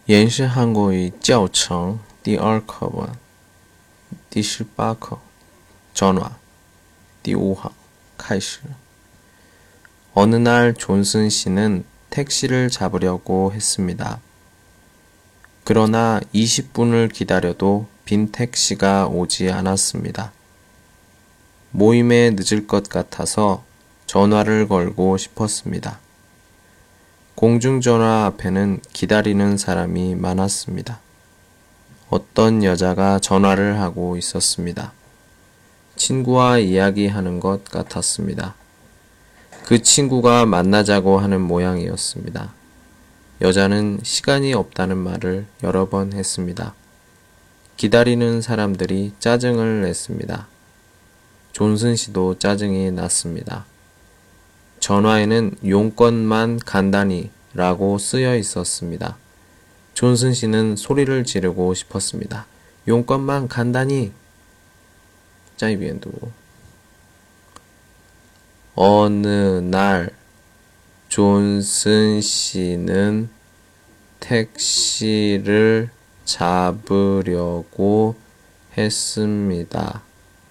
延时韩国语教程第2课文第18课전화第5行开始 어느 날 존슨 씨는 택시를 잡으려고 했습니다. 그러나 20분을 기다려도 빈 택시가 오지 않았습니다. 모임에 늦을 것 같아서 전화를 걸고 싶었습니다. 공중전화 앞에는 기다리는 사람이 많았습니다. 어떤 여자가 전화를 하고 있었습니다. 친구와 이야기하는 것 같았습니다. 그 친구가 만나자고 하는 모양이었습니다. 여자는 시간이 없다는 말을 여러 번 했습니다. 기다리는 사람들이 짜증을 냈습니다. 존슨 씨도 짜증이 났습니다. 전화에는 용건만 간단히 라고 쓰여 있었습니다. 존슨 씨는 소리를 지르고 싶었습니다. 용건만 간단히. 짜이비엔도. 어느 날 존슨 씨는 택시를 잡으려고 했습니다.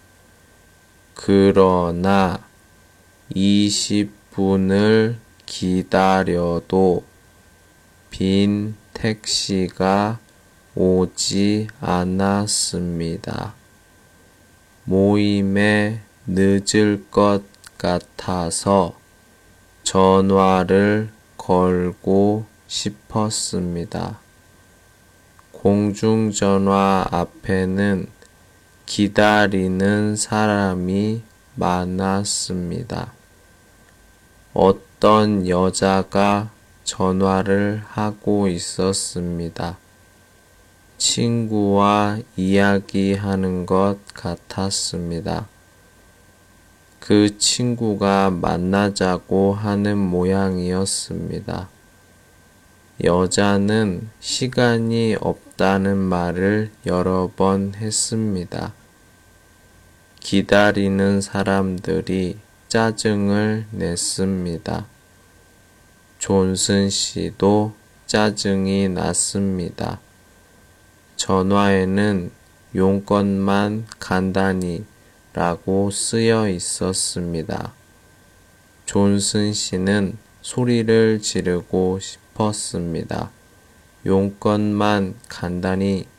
그러나 20분을 기다려도 빈 택시가 오지 않았습니다. 모임에 늦을 것 같아서 전화를 걸고 싶었습니다. 공중전화 앞에는 기다리는 사람이 많았습니다. 어떤 여자가 전화를 하고 있었습니다. 친구와 이야기하는 것 같았습니다. 그 친구가 만나자고 하는 모양이었습니다. 여자는 시간이 없다는 말을 여러 번 했습니다. 기다리는 사람들이 짜증을 냈습니다. 존슨 씨도 짜증이 났습니다. 전화에는 용건만 간단히 라고 쓰여 있었습니다. 존슨 씨는 소리를 지르고 싶었습니다. 용건만 간단히